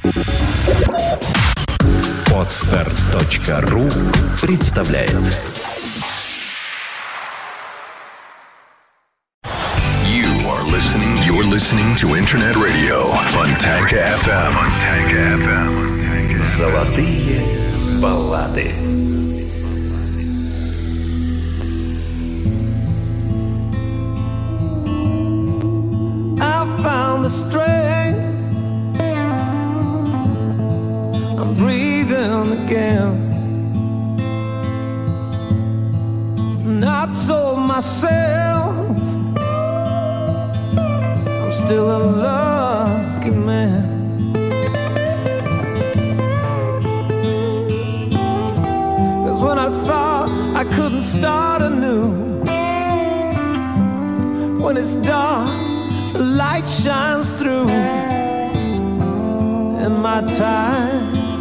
Podstart.ru представляет. You're listening to Internet Radio Fontanka FM. Золотые баллады. I found the strength. I'm breathing again. And I told myself I'm still a lucky man. 'Cause when I thought I couldn't start anew, when it's dark, the light shines through. In my time,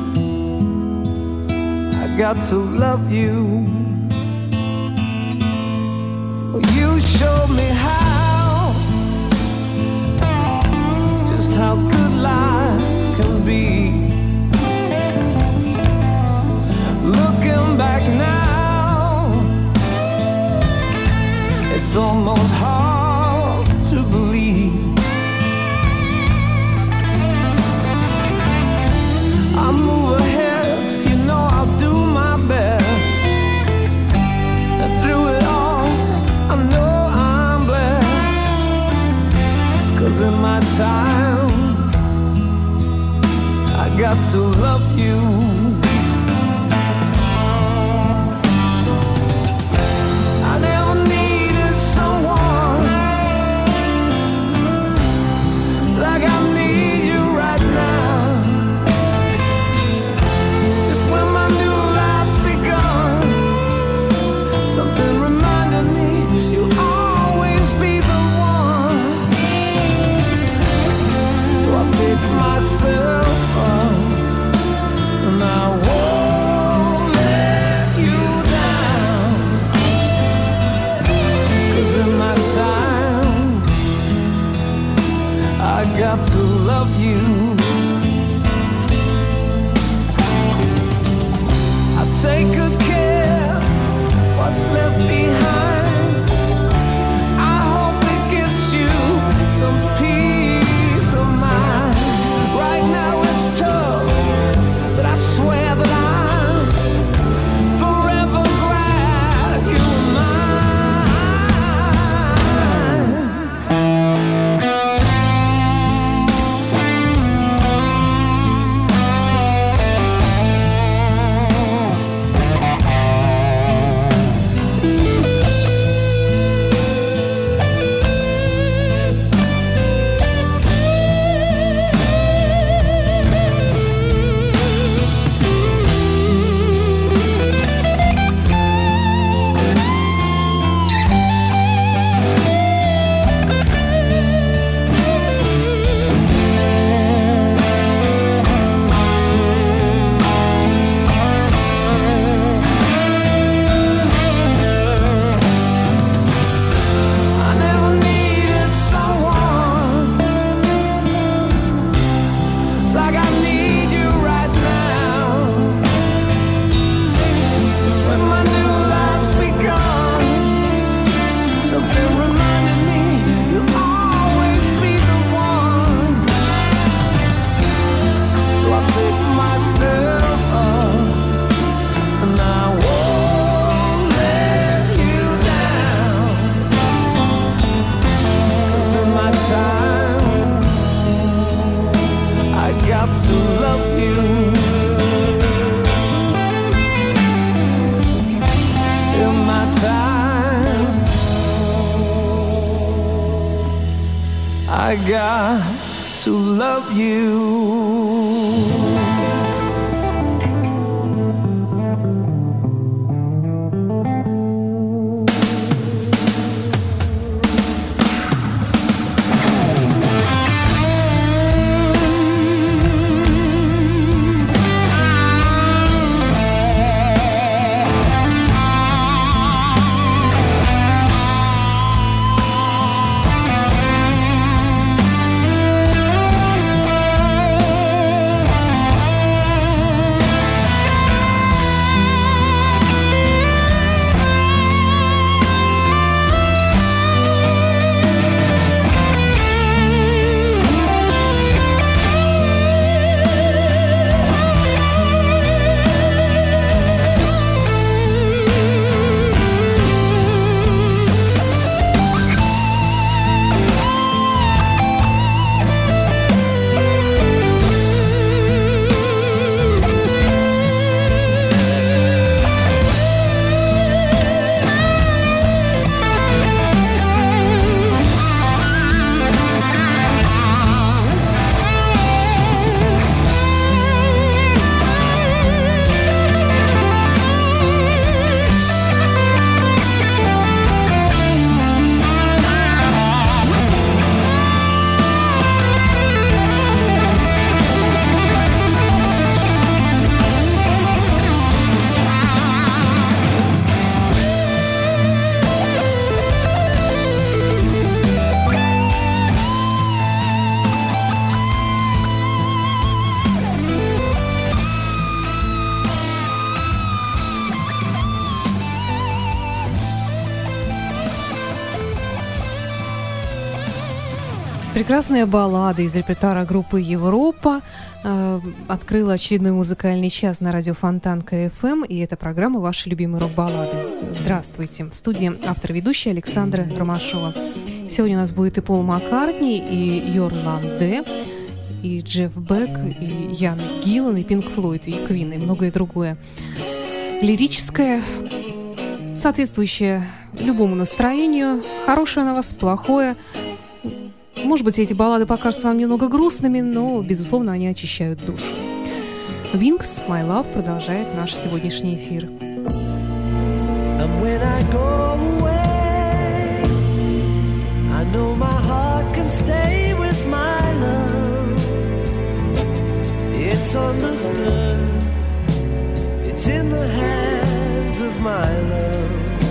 I got to love you. You showed me just how good life can be. Looking back now, it's almost hard to believe. I'll move ahead, you know I'll do my best. And through it all, I know I'm blessed. 'Cause in my time, I got to love you. I never needed someone like I need you right now. Just when my new life's begun, something reminded me you'll always be the one. So I picked myself up, and I won't let you down. 'Cause in my time, I got to love you. I take good care what's left behind. I hope it gives you some peace of mind. Right now it's tough, but I swear that I'm forever glad you're mine. I never needed someone like I need you right now. Just when my new life's begun, something reminded me you'll always be the one. So I picked myself up, and I won't let you down. 'Cause in my time, I got to love you. In my time, I got to love you. Прекрасная баллада из репертуара группы «Европа» открыла очередной музыкальный час на радио Фонтан КФМ, и это программа «Ваши любимые рок-баллады». Здравствуйте! В студии автор-ведущая Александра Ромашова. Сегодня у нас будет и Пол Маккартни, и Йорн Ланде, и Джефф Бек, и Ян Гиллан, и Пинк Флойд, и Квин, и многое другое. Лирическое, соответствующее любому настроению, хорошее на вас, плохое. Может быть, эти баллады покажутся вам немного грустными, но, безусловно, они очищают душу. Wings, My Love продолжает наш сегодняшний эфир. And when I go away, I know my heart can stay with my love. It's understood, it's in the hands of my love.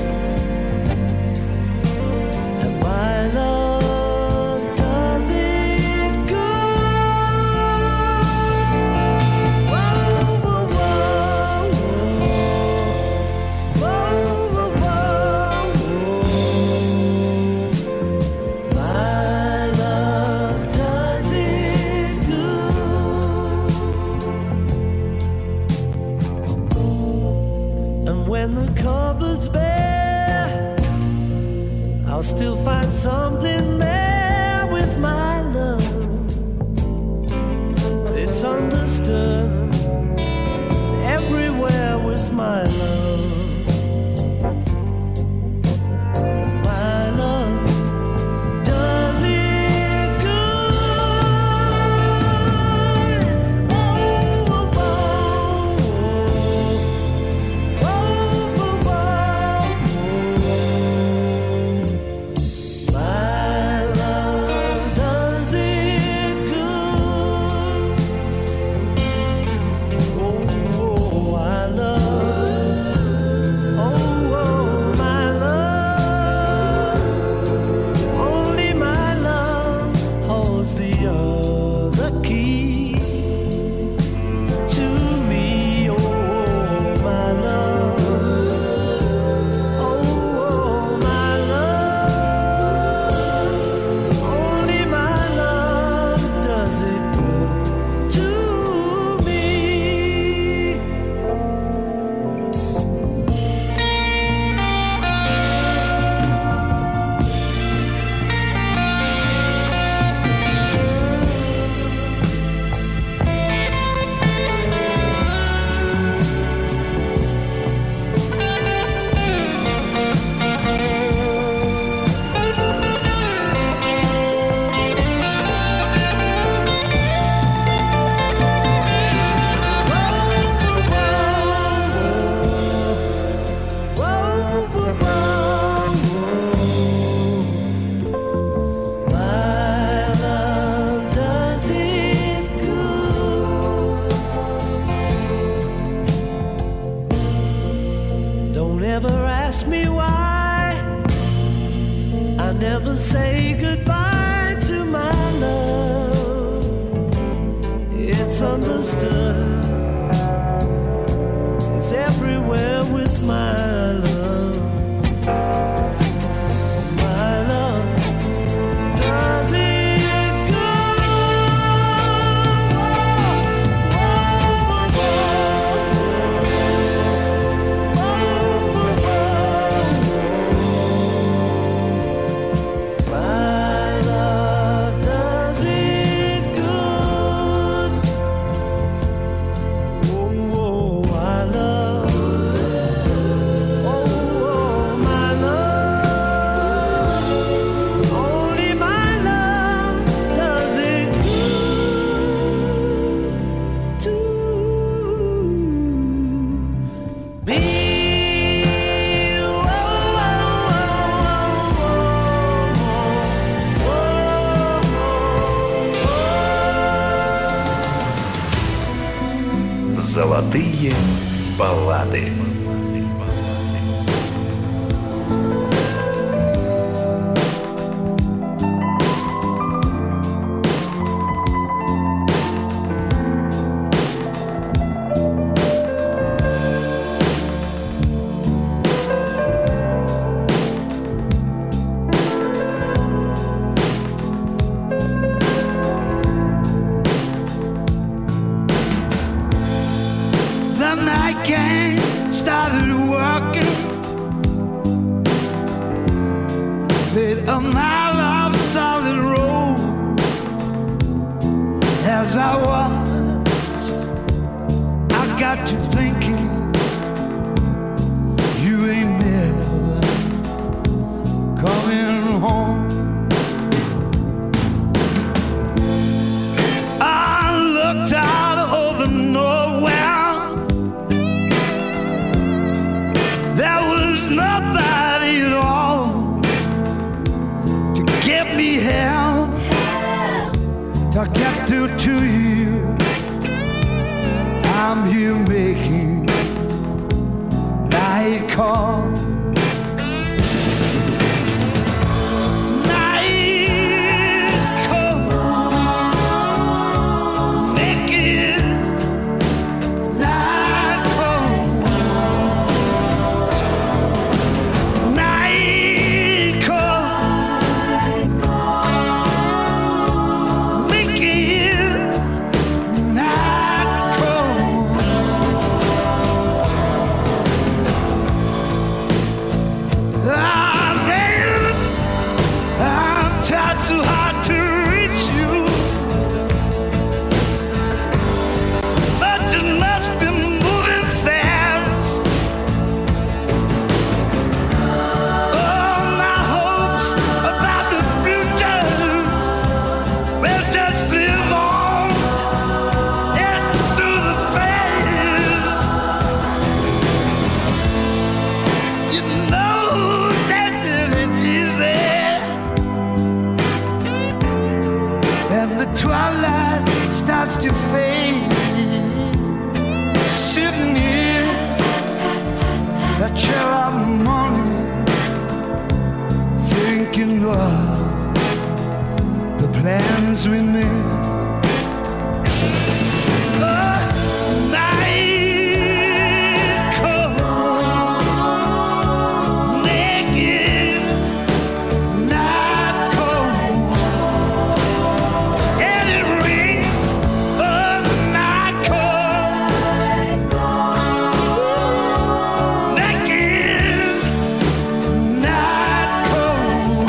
And my love I'll still find something there with my love. It's understood, it's everywhere with my love. My love does it good. Oh, oh, oh, oh, oh, Золотые баллады. night gang started working. Laid a mile of solid road. As I watched, I got to thinking, you ain't never coming home. I looked out over nowhere. There was nobody at all to get me help, to get through to you. I'm here making night call. The plans we made. Night comes, naked, night comes, and it rains. Night comes, naked, night comes.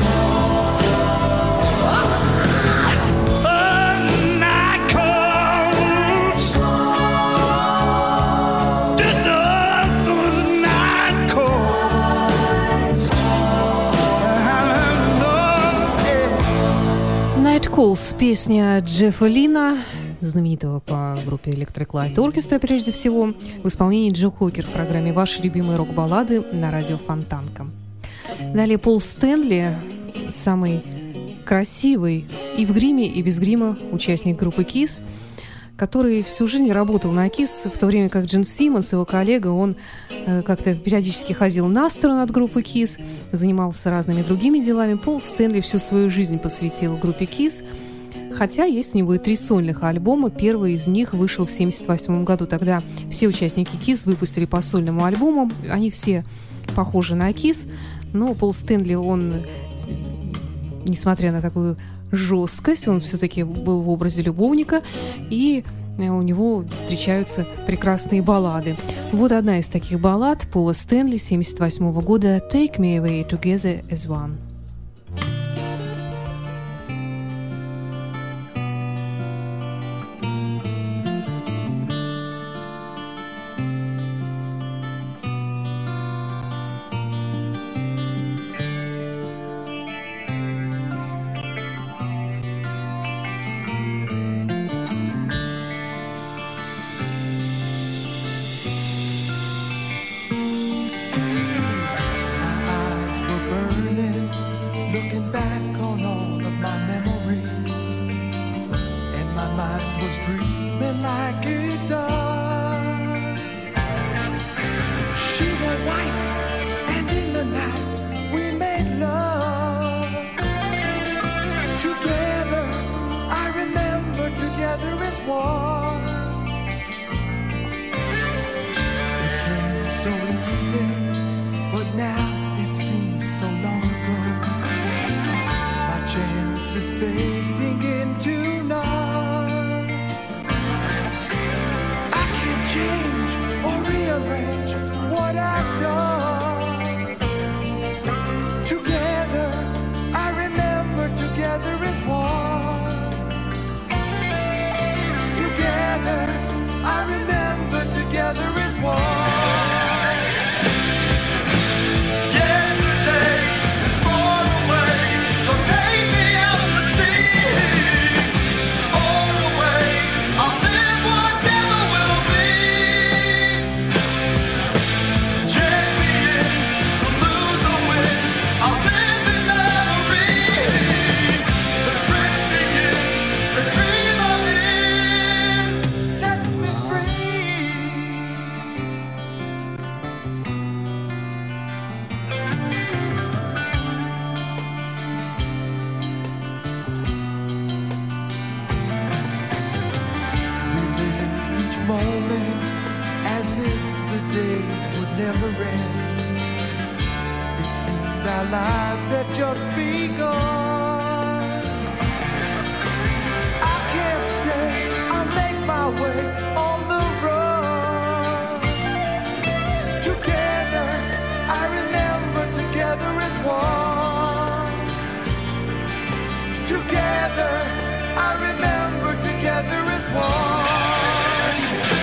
Night Calls, песня Джеффа Лина, знаменитого по группе Electric Light Orchestra, прежде всего, в исполнении Джо Кокер в программе «Ваши любимые рок-баллады» на радио Фонтанка. Далее Пол Стэнли, самый красивый и в гриме, и без грима участник группы Kiss, который всю жизнь работал на Kiss, в то время как Джин Симмонс, его коллега, он как-то периодически ходил на сторону от группы Kiss, занимался разными другими делами. Пол Стэнли всю свою жизнь посвятил группе Kiss, хотя есть у него и 3 сольных альбома. Первый из них вышел в 1978 году. Тогда все участники Kiss выпустили по сольному альбому. Они все похожи на Kiss, но Пол Стэнли, он, несмотря на такую жесткость, он все-таки был в образе любовника, и у него встречаются прекрасные баллады. Вот одна из таких баллад Пола Стэнли 1978 года «Take Me Away Together as One». Change or realize strange what I've done. Together, I remember together is one. Together, I remember together is one. Yesterday is far away, so take me out to sea. Far away, I'll live what never will be. Champion to lose or win, I'll live in memories. The trip begins, the dream I'm in sets me free. We lived each moment as if the days would never end. It seemed our lives had just begun. I can't stay, I'll make my way on the run. Together, I remember together as one. Together, I remember together as one.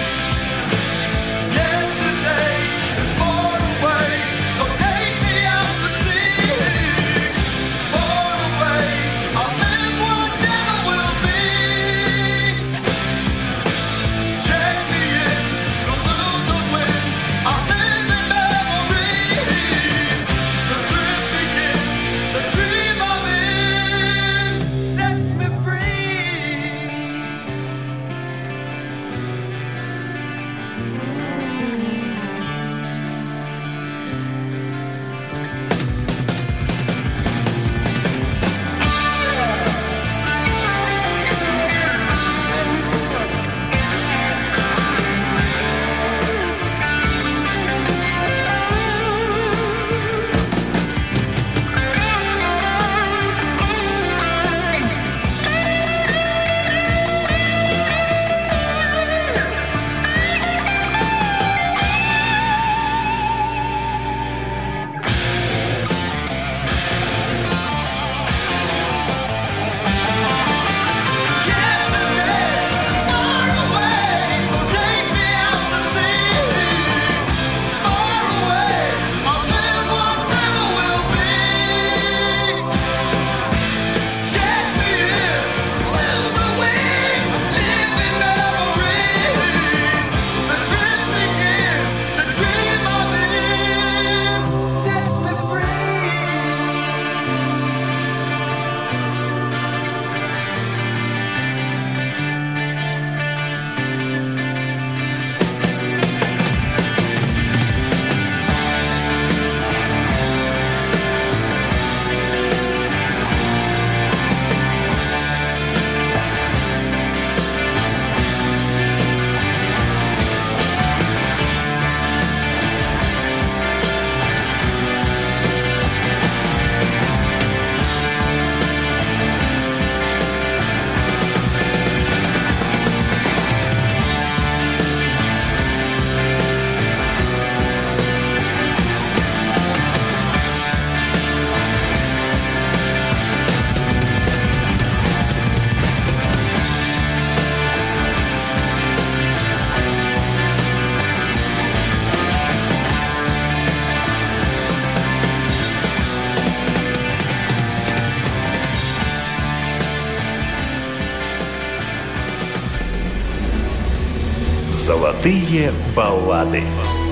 Yesterday is far away, so take me out to sea. Far away, I'll live what never will be. Champion to lose or win, I'll live in memories. The trip begins, the dream I'm in sets me free. Золотые баллады.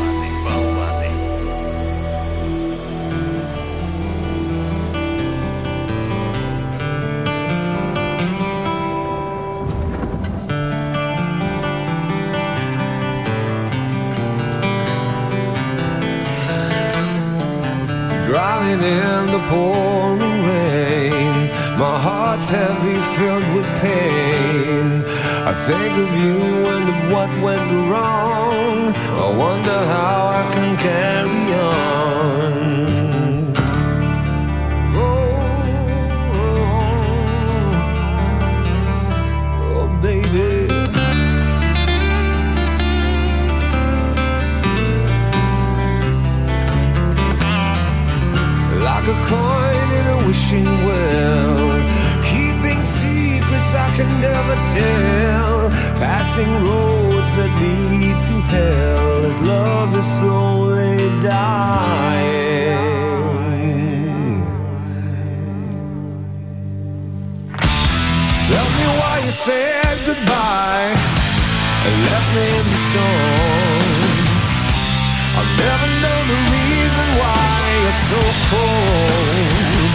Driving in the pouring rain, my heart's heavy, filled with pain. I think of you and of what went wrong. I wonder how I can carry on. Oh, baby. to hell as love is slowly dying. Tell me why you said goodbye and left me in the storm. I'll never know the reason why you're so cold.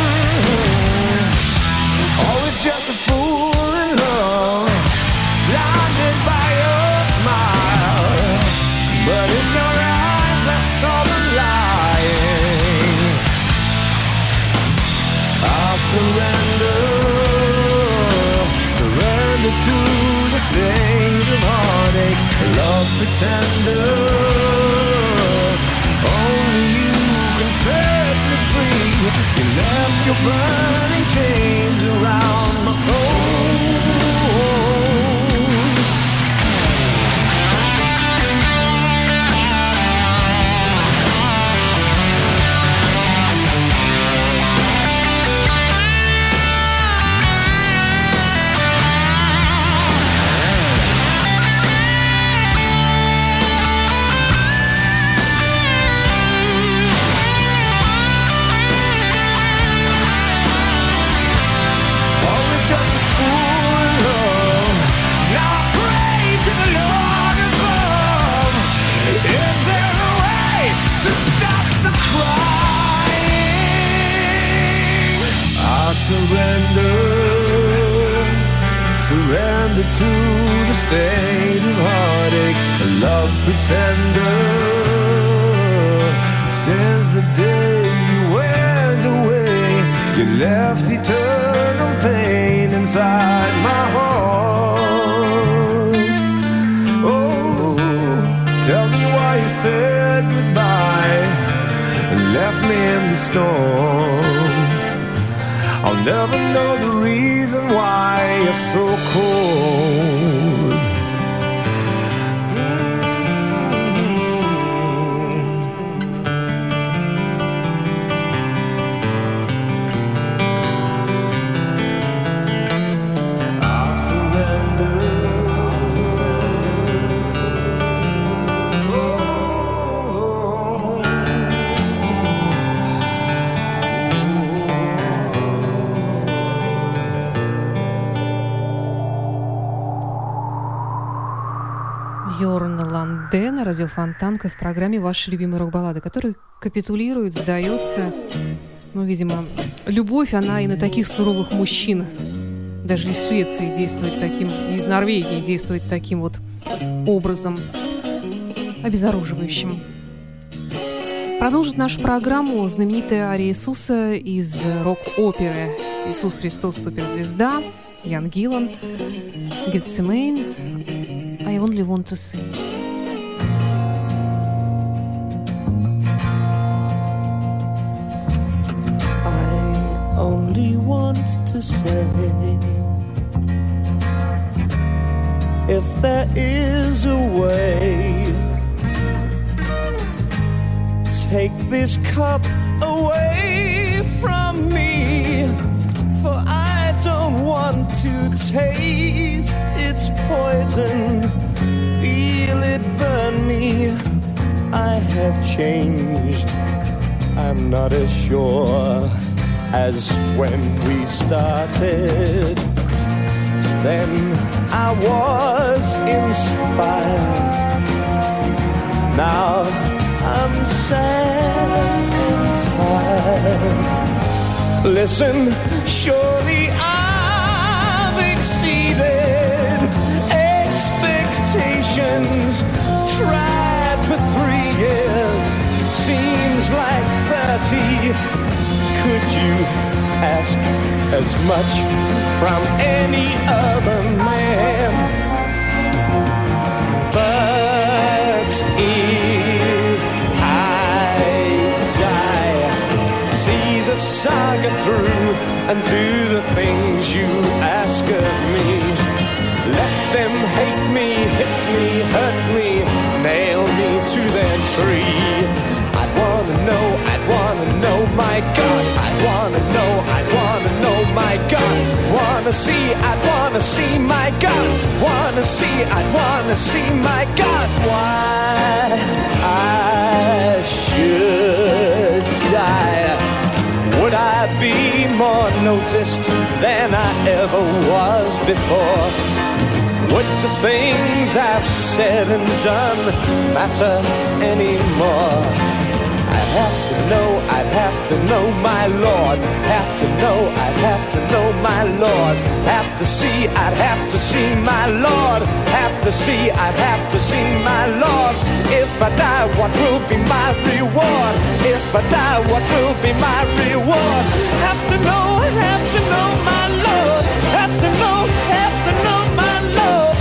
Always just a fool in love, blinded by your smile. But in your eyes I saw the lying. I'll surrender to the state of heartache, a love pretender. Only you can set me free. You left your burning chains around my soul. Surrender to the state of heartache, a love pretender. Since the day you went away, you left eternal pain inside my heart. Oh, tell me why you said goodbye and left me in the storm. I'll never know the reason why you're so cold. I'll surrender. Йорн Ланде на радио Фонтанка в программе «Ваши любимые рок-баллады», который капитулирует, сдается. Ну, видимо, любовь, она и на таких суровых мужчин, даже из Швеции действует таким, и из Норвегии действует таким вот образом обезоруживающим. Продолжит нашу программу знаменитая ария Иисуса из рок-оперы «Иисус Христос. Суперзвезда», Ян Гиллан, «Гетсемейн», I only want to see. I only want to say, if there is a way, take this cup away from me, for I don't want to taste its poison, feel it burn me. I have changed, I'm not as sure as when we started. Then I was inspired, now I'm sad and tired. Listen, surely I've exceeded expectations. Tried for 3 years, seems like 30. Could you ask as much from any other man? But if I die, see the saga through and do the things you ask of me. Let them hate me, hit me, hurt me, nail me to their tree. I'd wanna know, my God. I'd wanna know, my God. Wanna see, I'd wanna see, my God. Wanna see, I'd wanna see, my God. noticed than I ever was before. Would the things I've said and done matter anymore? I'd have to know my Lord. Have to know, I'd have to know my Lord. Have to see, I'd have to see my Lord. Have to see, I'd have to see my Lord. If I die, what will be my reward? If I die, what will be my reward? Have to know, I'd have to know my Lord. Have to know my Lord.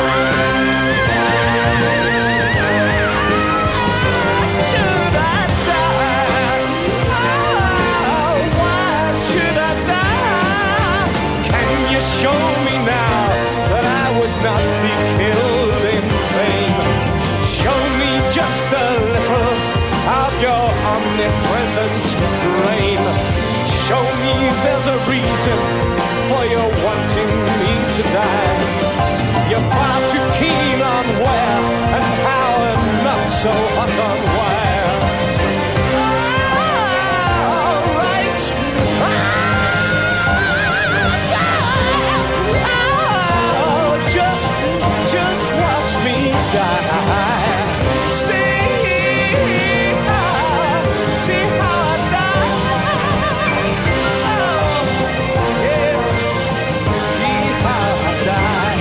Should I die? Oh, why should I die? Can you show me now that I would not be killed in vain? Show me just a little of your omnipresent reign. Show me there's a reason for your wanting me to die. You're far too keen on where and how and not so hot on where. All right. Just watch me die. See how I die. See how I die.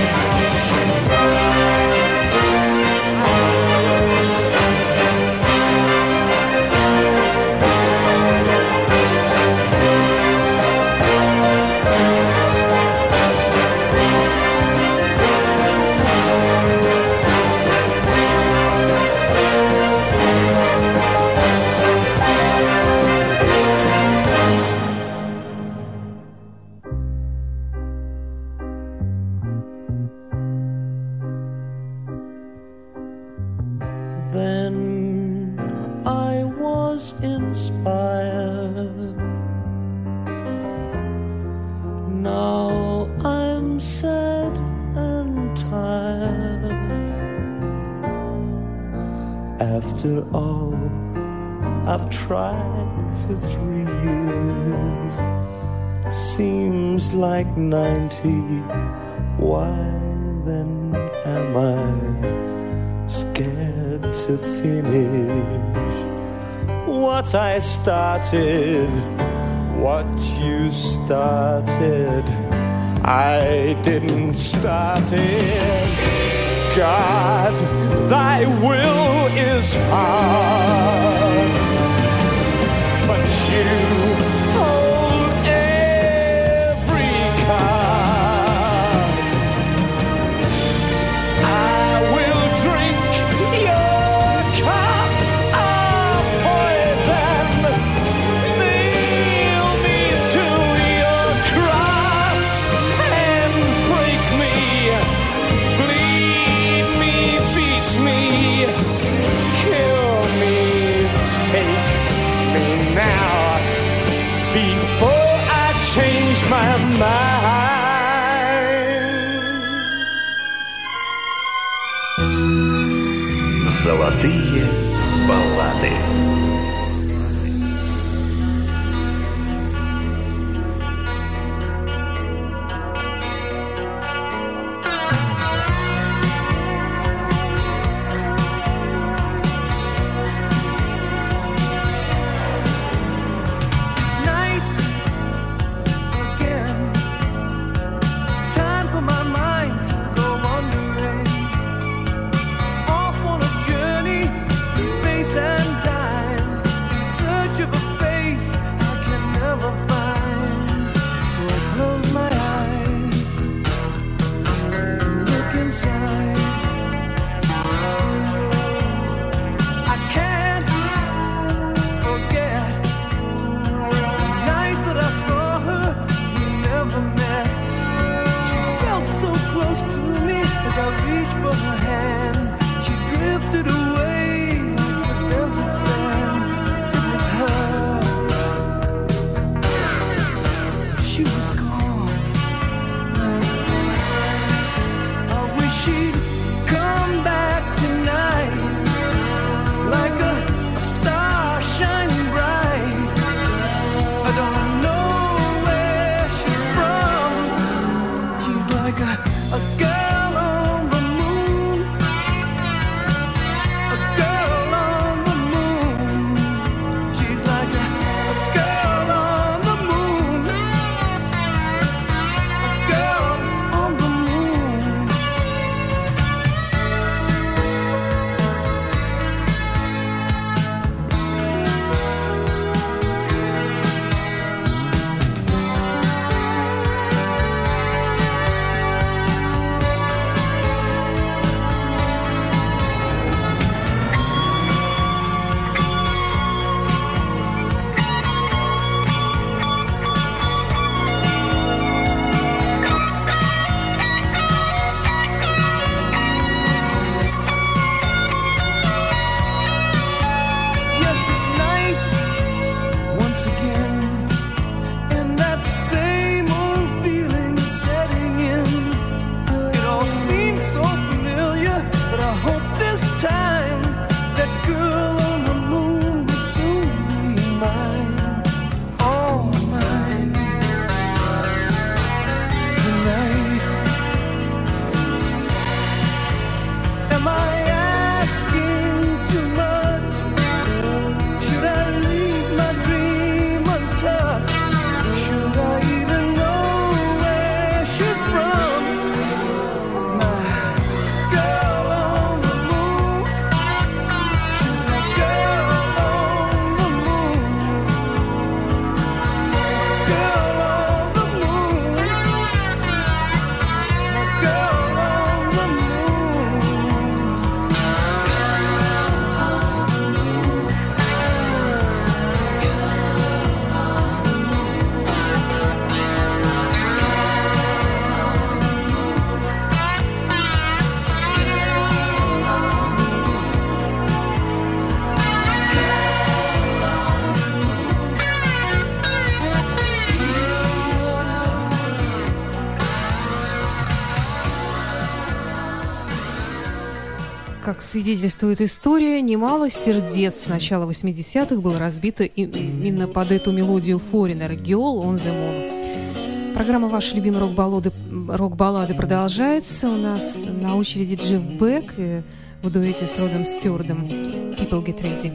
Then I was inspired. Now I'm sad and tired. After all I've tried for 3 years, seems like 90. Why then am I scared to finish what I started? What you started, I didn't start it. God, thy will is hard, but you hold every card. I will drink your cup of poison, nail me to your cross and break me, bleed me, beat me, kill me, take me now, before I change my mind. Золотые баллады. Tonight again, time for my mind to go wandering off on a journey through space and time. Как свидетельствует история, немало сердец с начала 80-х было разбито именно под эту мелодию Foreigner «Girl on the Moon». Программа «Ваши любимые рок-баллады» продолжается. У нас на очереди Джефф Бек в дуэте с Родом Стюардом «People Get Ready».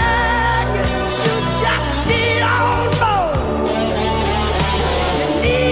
Need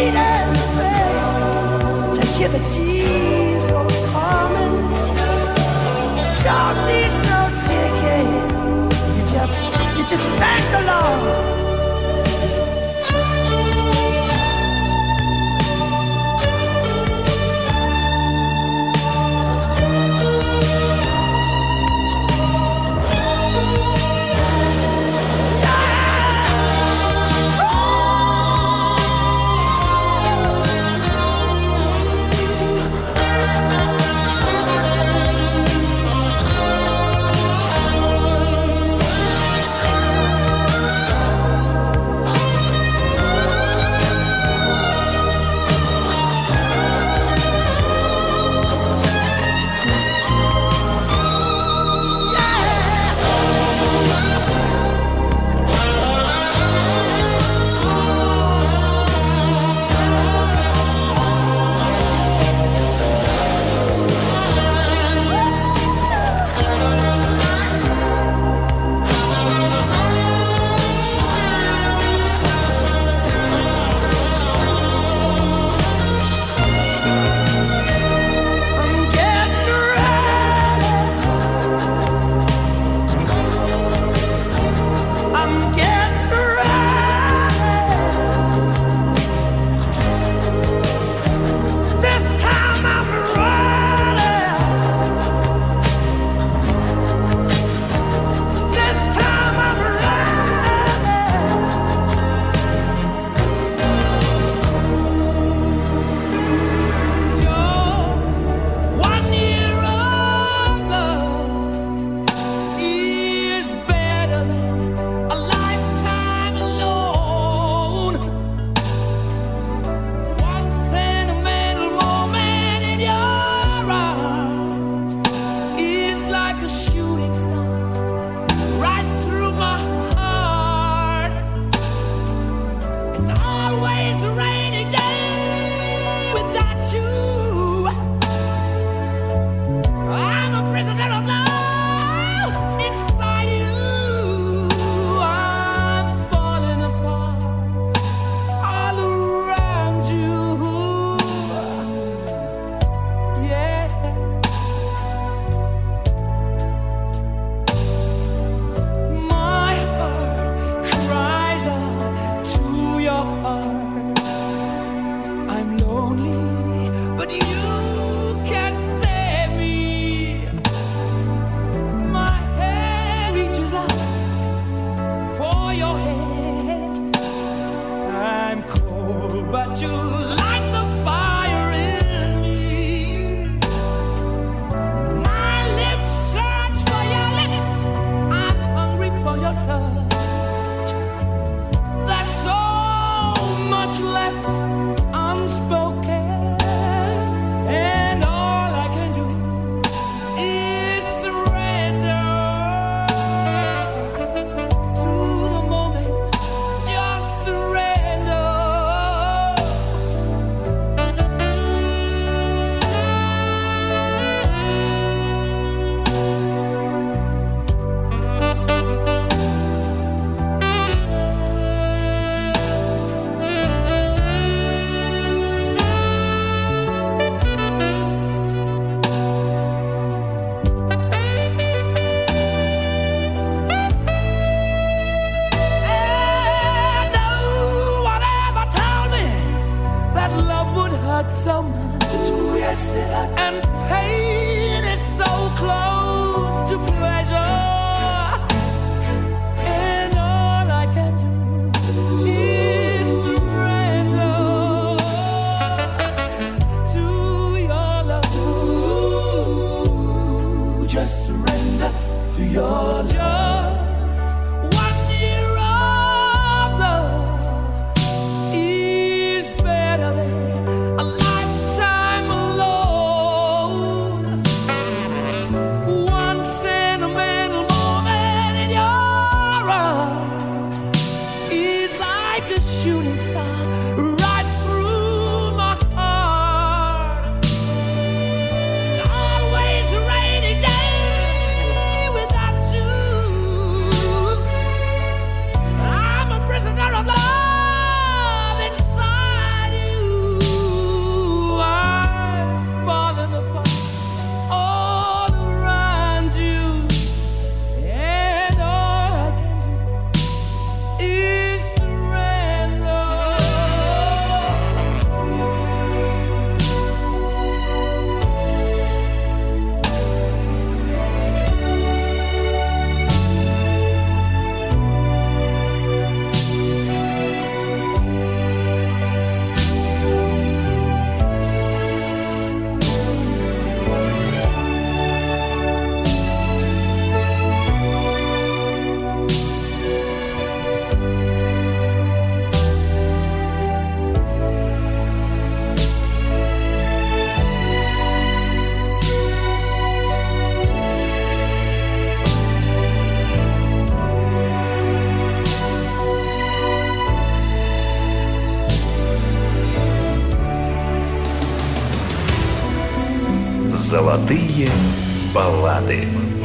Золотые баллады.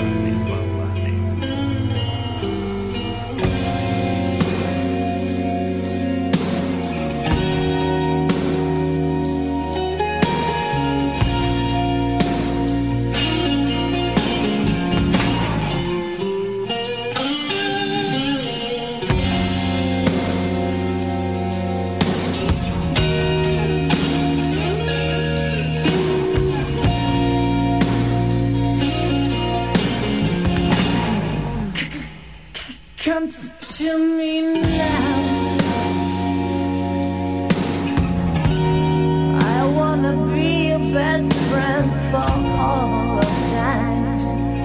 Come to me now. I wanna be your best friend for all of time.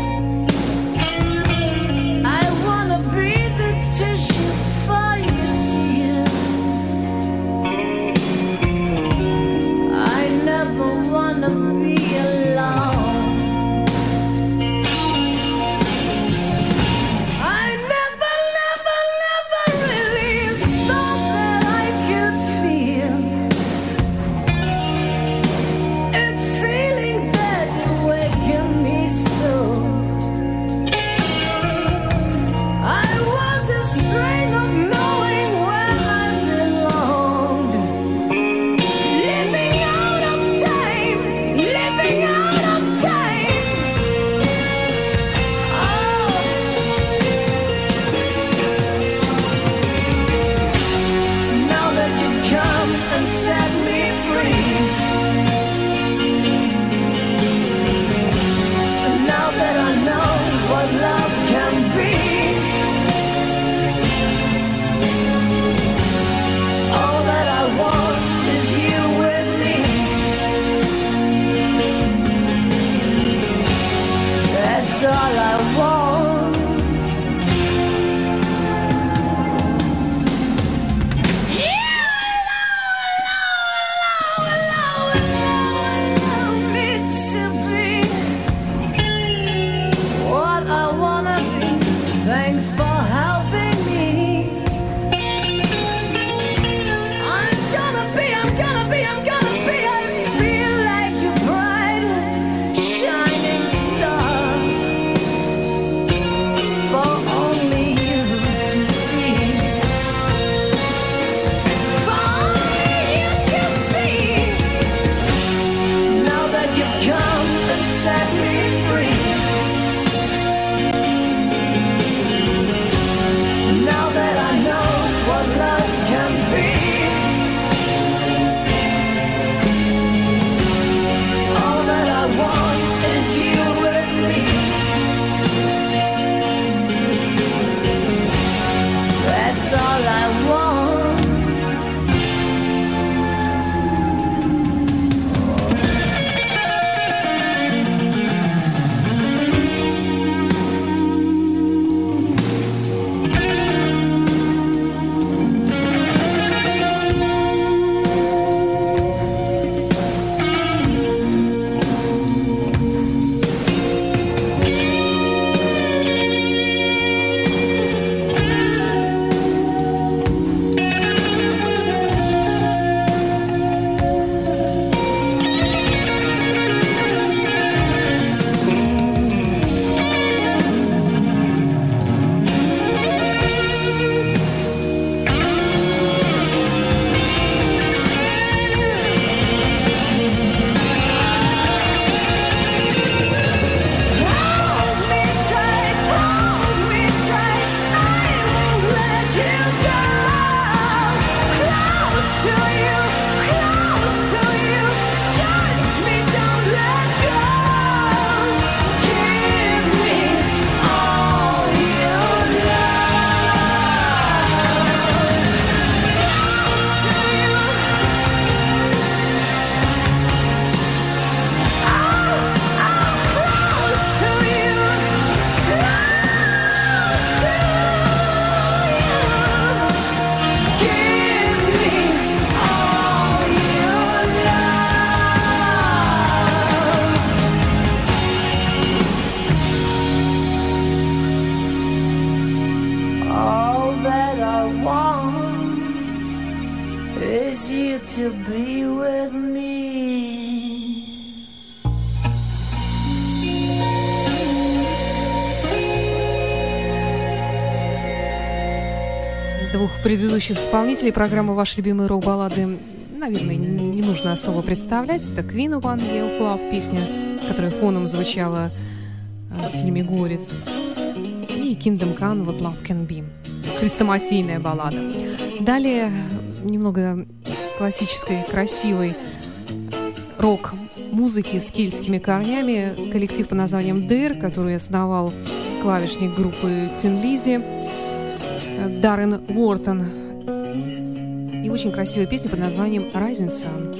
I wanna be the tissue for your tears. I never wanna be alone. to be with me. Двух предыдущих исполнителей программы «Ваши любимые рок-баллады», наверное, не нужно особо представлять. Это Queen One Year of Love, песня, которая фоном звучала в фильме «Горец». И Kingdom Come, What Love Can Be. Хрестоматийная баллада. Далее немного классической, красивой рок-музыки с кельтскими корнями. Коллектив под названием Dare, который основал клавишник группы Tin Lizzy Даррен Уортон. И очень красивая песня под названием Rising Sun.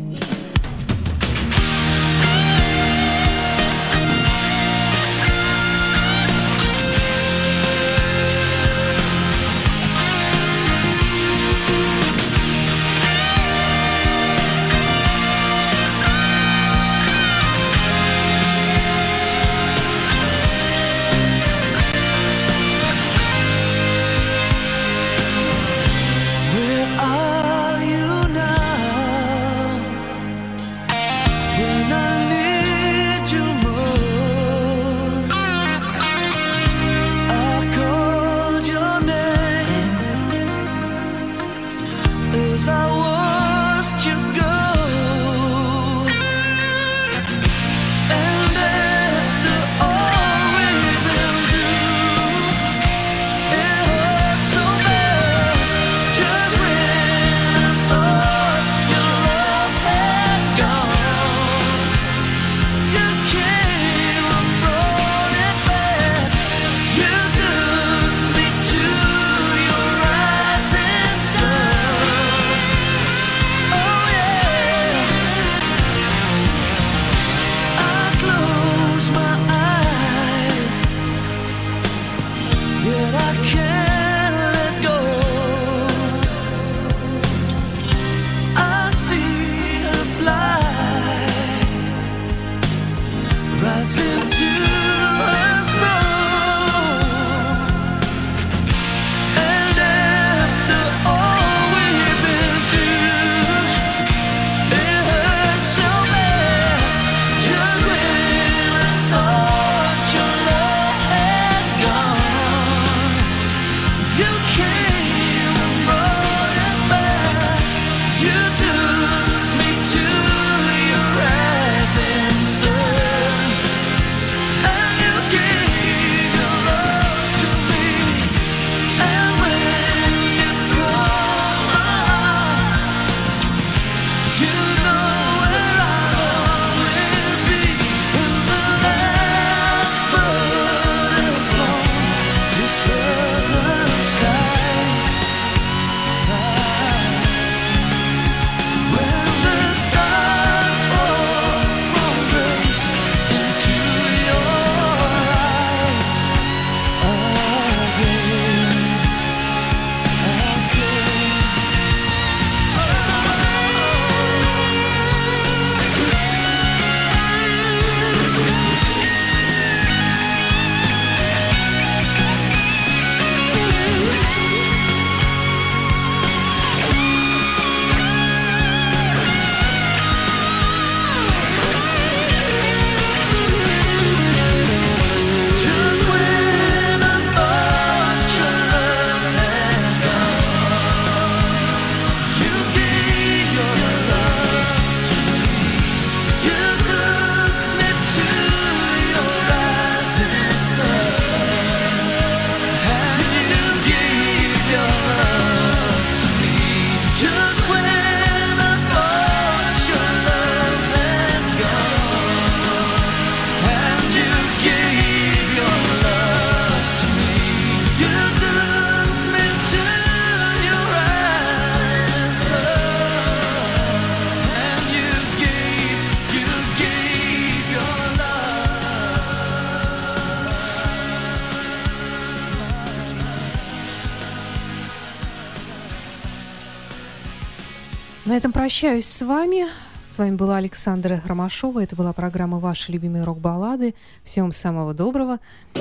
На этом прощаюсь с вами. С вами была Александра Ромашова. Это была программа «Ваши любимые рок-баллады». Всем самого доброго.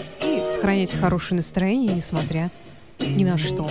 И сохраняйте хорошее настроение, несмотря ни на что.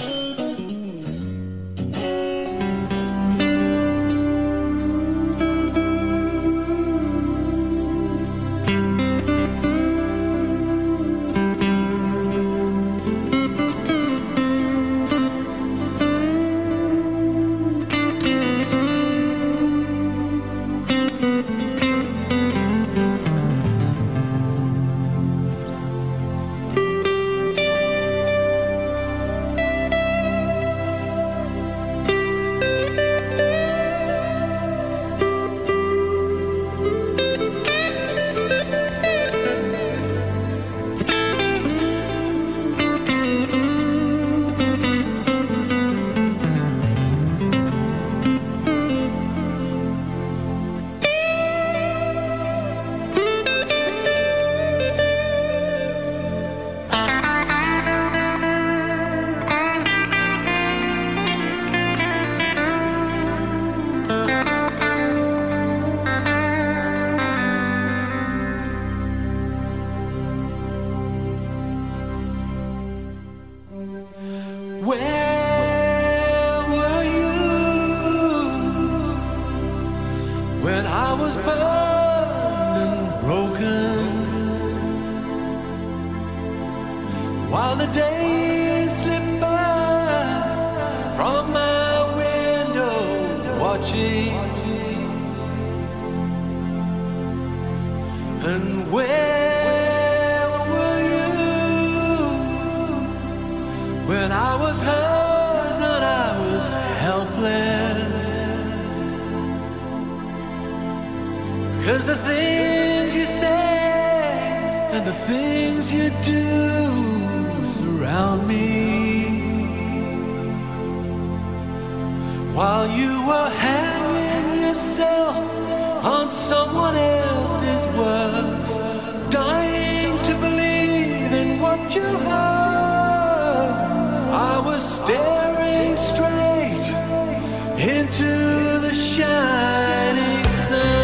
Where were you when I was burned and broken? While the days slip by from my window, watching. And where were you when I was hurt and I was helpless? 'Cause the things you say and the things you do surround me. While you were hanging yourself on someone else's words, dying to believe in what you heard, I was staring straight into the shining sun.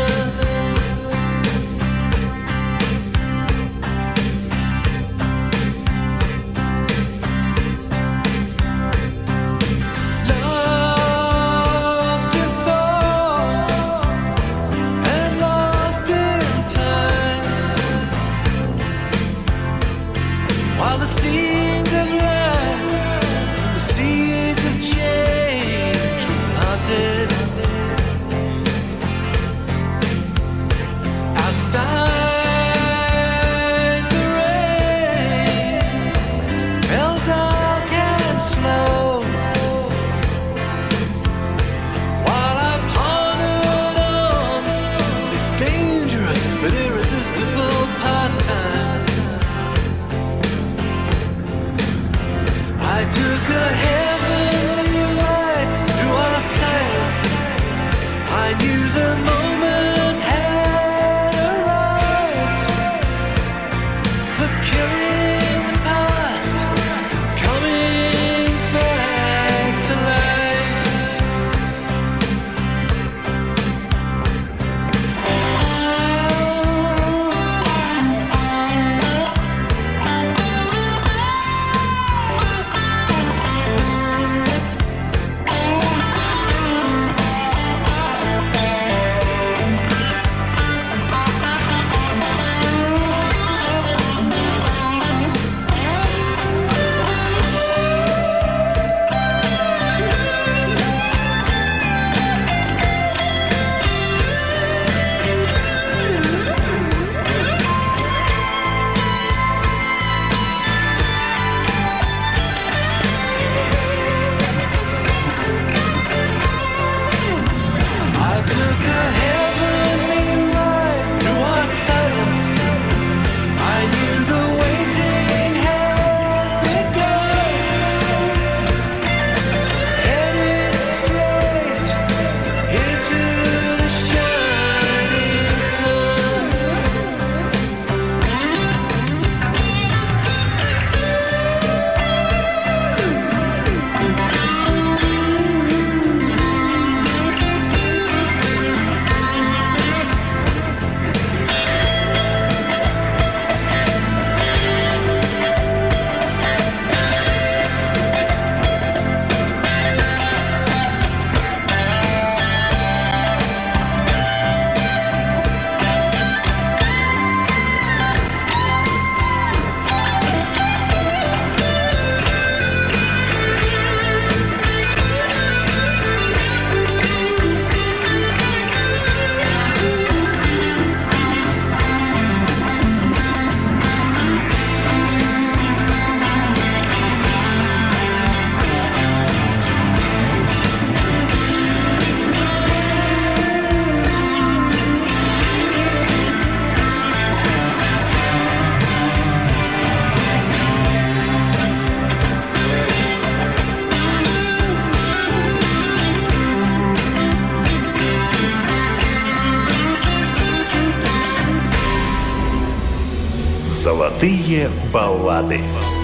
Золотые баллады.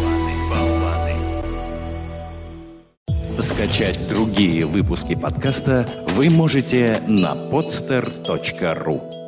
Скачать другие выпуски подкаста вы можете на podster.ru.